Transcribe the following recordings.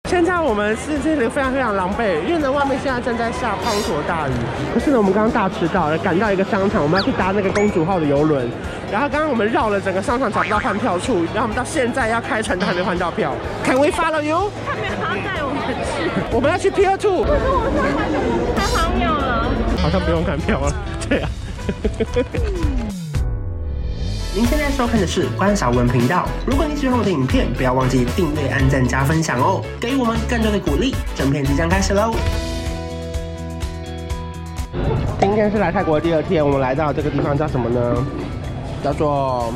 現在我們是這裡非常非常狼狽，因為呢外面現在正在下滂沱大雨。可是呢，我們剛剛大遲到了，趕到一個商場，我們要去搭那個公主號的郵輪。然後剛剛我們繞了整個商場找不到換票處，然後我們到現在要開城都還沒換到票。Can we follow you？ 他沒有要帶我們去， 我們要去 Pier 2。 可是我们太荒謬了， 好像不用看票了。对啊。您现在收看的是關韶文頻道。如果你喜歡我的影片，不要忘記訂閱、按讚、加分享哦，給予我們更多的鼓勵。整片即將開始嘍！今天是來泰國的第2天，我們來到這個地方叫什麼呢？叫做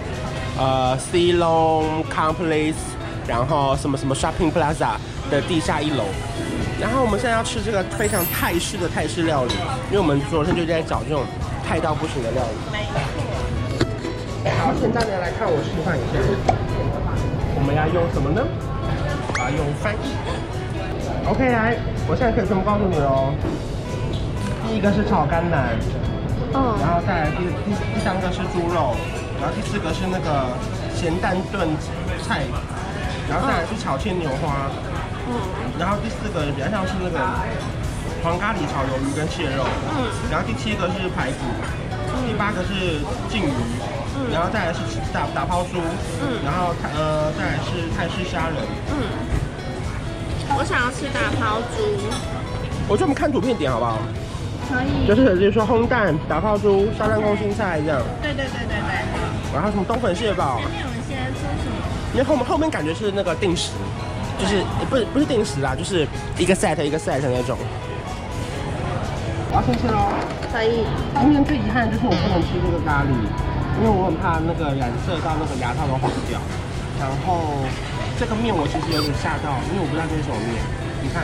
Silong Complex， 然後什麼什麼 Shopping Plaza 的地下1樓。然後我們現在要吃這個非常泰式的泰式料理，因為我們昨天就在找這種泰到不行的料理。好，現在呢來看我示範一下，我們要用什麼呢？用翻譯。OK， 來，我現在可以全部告訴你嘍。第一個是炒甘藍，然後再來第3個是豬肉，然後第4個是那個鹹蛋燉菜，然後再來是炒鮮牛花，然後第4個比較像是那個黃咖喱炒魷魚跟蟹肉，然後第7個是排骨，第8個是鯽魚。然後再來是打拋豬，然後再來是泰式蝦仁。 我想要吃打拋豬。 我觉得我們看圖片點好不好？ 可以。 就是比如說烘蛋、打拋豬、沙蛋空心菜這樣。對。然後什麼冬粉蟹堡。前面有一些說什麼？因為後面感覺是那個定時，就是不是定時啦，就是一個 set 一個 set 那種。我要先吃嘍。 可以。 今天最遺憾的就是我不能吃這個咖喱。因為我很怕那個染色到那個牙套都黃掉，然後這個麵我其實有點嚇到，因為我不知道這是什麼麵。你看，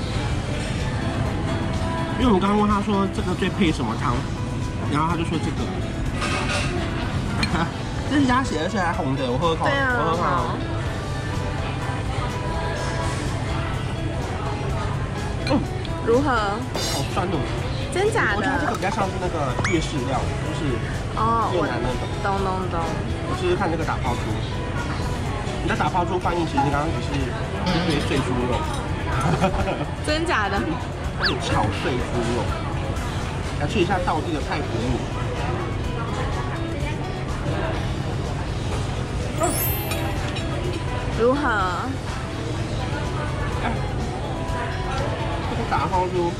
因為我們剛剛問他說這個最配什麼湯，然後他就說這個，這是鴨血，而且還紅的，我喝口，我喝口。 如何？ 好酸哦。 真假的？ 我觉得这个比較像是那個粵式料理，就是越南那種。 懂。 我試試看這個打拋豬。你的打拋豬翻譯其實剛剛只是一堆碎豬肉。 真假的？ 炒碎豬肉。來吃一下道地的泰國米。 如何？ 這個打拋豬。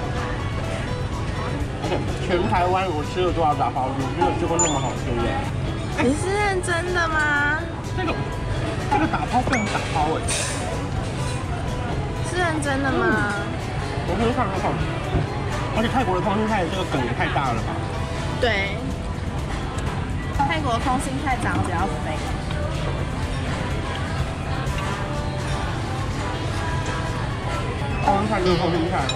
全台灣我吃了多少打拋豬，沒有吃過那麼好吃的。 你是認真的嗎？ 這個打拋不能打拋哎。 是認真的嗎？ 我喝看。而且泰國的空心菜這個梗也太大了吧？ 對。泰國的空心菜長得比較肥。 空心菜就是空心菜。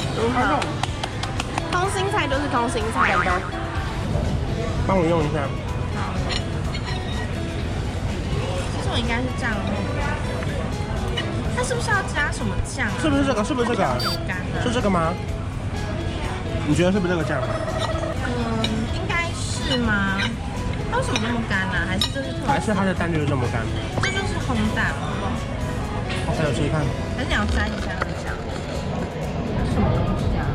空心菜就是空心菜。 幫我用一下。 好。其實我應該是這樣弄。它是不是要加什麼醬啊？是不是這個？ 是這個嗎？你覺得是不是這個醬？ 應該是嗎？它為什麼那麼乾呢？還是這是特別？ 還是它的蛋就是這麼乾？ 這就是烘蛋嗎？ 還有試試看。 還是你要沾一下那個醬？什麼東西啊？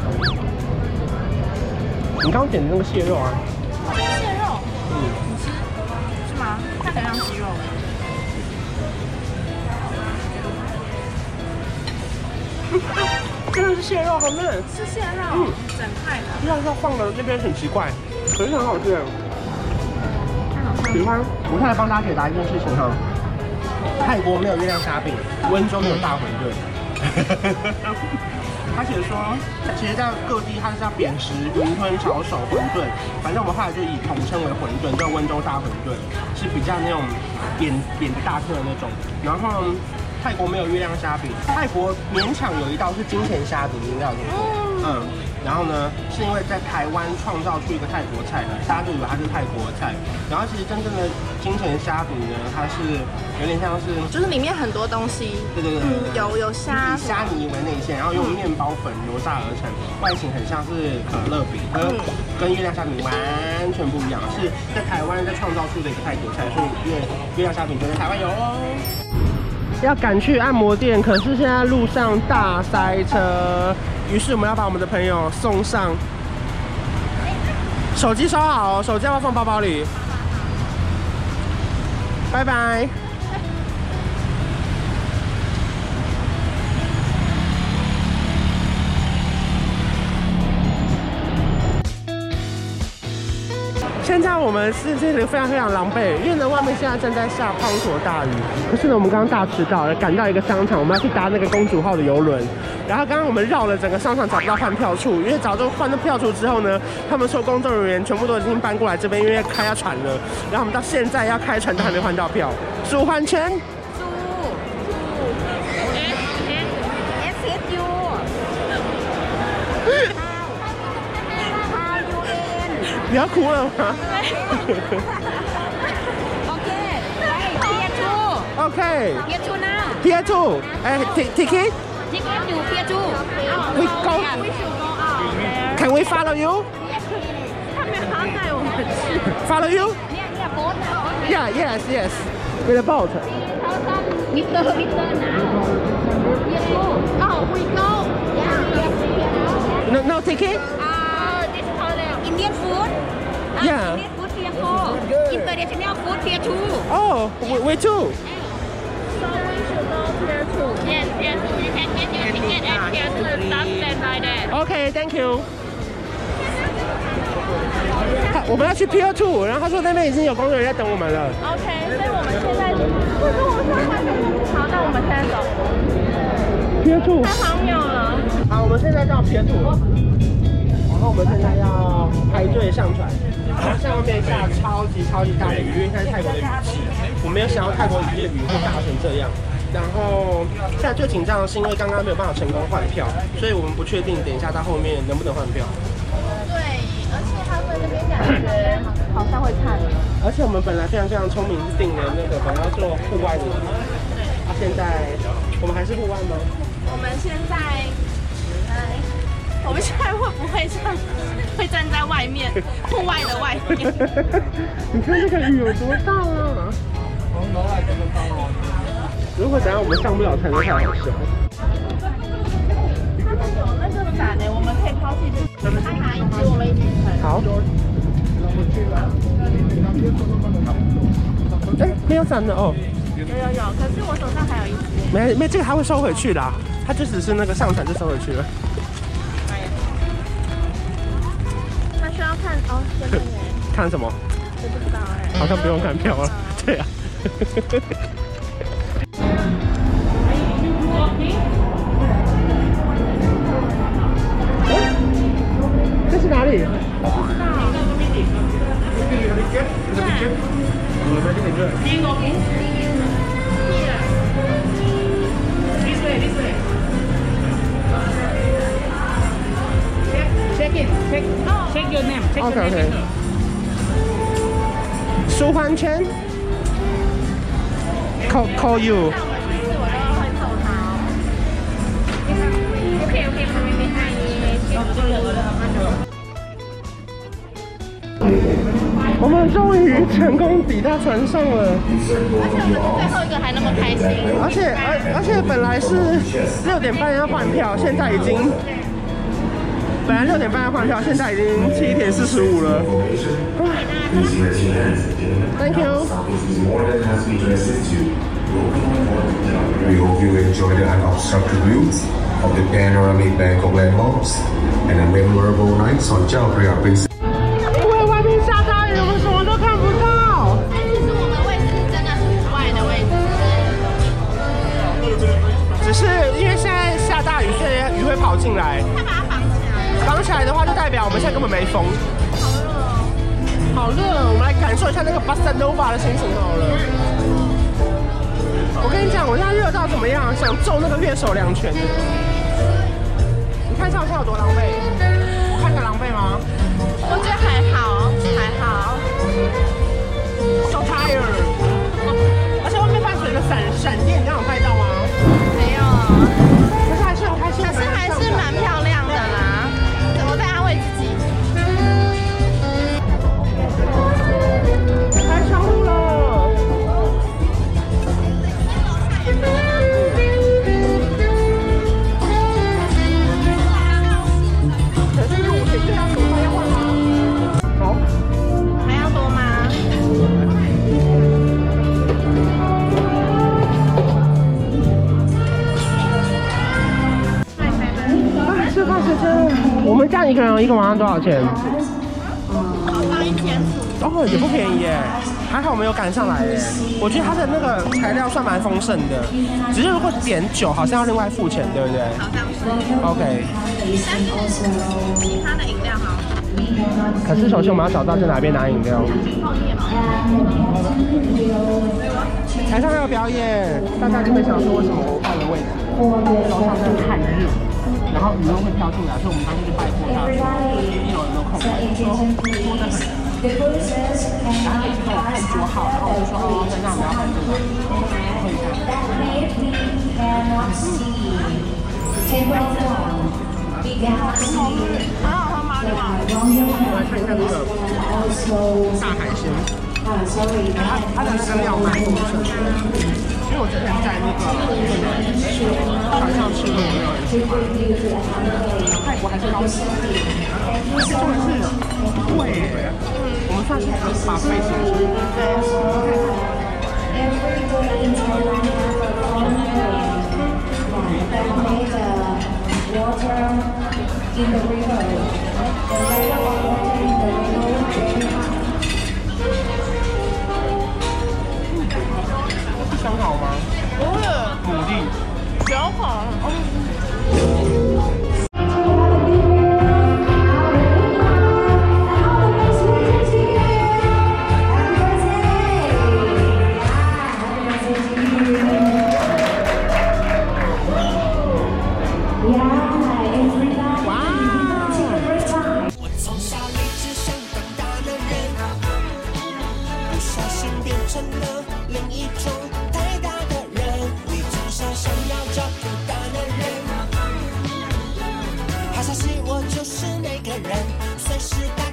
你剛剛點的那個蟹肉啊？ 蟹肉？你吃是嗎？看起來像雞肉。 真的是蟹肉，好嫩。 是蟹肉，整塊的。 雖然說放的那邊很奇怪，可是很好吃。喜歡。我現在幫大家解答一件事情哈，泰國沒有月亮蝦餅，溫州沒有大餛飩。他寫說，其實在各地它是叫扁食、雲吞、炒手、餛飩，反正我們後來就以統稱為餛飩，叫溫州大餛飩，是比較那種扁的大顆的那種。然後泰國沒有月亮蝦餅，泰國勉強有一道是金錢蝦餅，你知道嗎？然後呢，是因為在台灣創造出一個泰國菜，大家就以為它是泰國菜。然後其實真正的金錢蝦餅呢，它是有點像是， 就是裡面很多東西。對，有蝦，以蝦泥為內餡，然後用麵包粉揉炸而成，外形很像是可樂餅，跟月亮蝦餅完全不一樣，是在台灣在創造出的一個泰國菜，所以月亮蝦餅就在台灣有哦。 要趕去按摩店，可是現在路上大塞車，於是我們要把我們的朋友送上。手機收好哦，手機要不要放包包裡？拜拜。现在我们是这里非常非常狼狽，因为呢外面现在正在下滂沱大雨。可是呢我们刚刚大遲到了，趕到一個商場，我們要去搭那個公主號的郵輪。然後剛剛我們繞了整個商場找不到換票處，因為找到換到票處之後呢，他們說工作人員全部都已經搬過來這邊，因為開要船了。然後我們到現在要開船都還沒換到票。蘇換圈。你要哭了嗎？OK. Pier 2 now. Pier 2. Ticket? Ticket to Pier 2. We go. Can we follow you? 他们好带我們去。 Follow you? Yeah, yes. With a boat. Mister now. Pier 2. Oh, we go. No ticket? Indian food. Yeah. Indian food Pier 4. International food Pier 2. Oh, we too. So we should go Pier 2. Yes. You can get your ticket at Pier 2. Stop stand by there. Okay, thank you. 我們要去 Pier 2，然後他說那邊已經有工作人員在等我們了。 OK， 所以我們現在好，那我們現在走。 Pier 2。 太荒謬了。 好，我們現在到 Pier 2。然後我們現在要排隊上船，然後下面下超級大的雨，因為現在泰國的雨季，我沒有想到泰國雨的雨會大成這樣。然後現在最緊張的是因為剛剛沒有辦法成功換票，所以我們不確定等一下到後面能不能換票。 對，而且他們那邊感覺好像會看。 而且我們本來非常聰明，是訂了那個本來要做戶外的，啊，現在我們還是戶外嗎？ 我們現在。我們現在會不會站在外面，戶外的外面？ 你看這個雨有多大啊！如果等下我們上不了船，就太好笑。他們有那個傘呢，我們可以拋棄這個。他拿一支，我們一起撐。好。哎，沒有傘的哦。有，可是我手上還有一支。沒，這個他會收回去的，他就只是那個上船就收回去了。需要看哦，這邊看什麼？我不知道哎，好像不用看票了。對啊。這是哪裡？Check your name. Okay. 舒緩圈 call you. 我們終於成功抵達船上了，而且我們是最後一個還那麼開心，而且本來是6點半要換票，現在已經。本來6點半要換票，現在已經7點45了。Thank you. We hope you enjoy the unobstructed views of the panoramic Bangkok landmarks and the memorable nights on Chao Phraya Princess. 因為外面下大雨，我們什麼都看不到。 但其實我們位置真的是戶外的位置， 只是因為現在下大雨，所以雨會跑進來。綁起來的話，就代表我們現在根本沒風。好熱哦！我們來感受一下那個 Bossa Nova 的心情好了。我跟你講，我現在熱到怎麼樣？想揍那個樂手2拳。你看上下有多狼狽？我看起來狼狽嗎？ 我覺得還好。 So tired。而且外面伴隨着閃電，你剛有拍到嗎？ 沒有。 可是還是很開心。可是還是蠻漂亮的啦。怎麼在安慰自己？開窗戶了。 們這樣一個人一個晚上多少錢？ 好像1500。 哦，也不便宜耶。還好我们有趕上來耶。我覺得它的那個材料算蠻豐盛的，只是如果點酒好像要另外付錢，對不對？ 好像是。 OK。 但是其他的飲料好。 可是首先我們要找到在哪邊拿飲料。 泡麵嗎？ 台上還有表演，大家就會想說為什麼我換了位置？樓上真的太熱，然後雨又會飄進來，所以我們當時就拜託他說1樓有沒有空位，說得很熱。然後他一直跟我看桌號，然後我就說哦，那我們要換这個，喝一下。 很好喝吗？ 我来看一下这個大海鮮，它的那個料蠻豐盛的，因為我之前在那個船上吃過，沒有人喜歡。泰國還是高級，真的是貴耶。我們算是把費行程。香好嗎？ 不是， 牡蠣。 小好。 我就是那個人，隨時。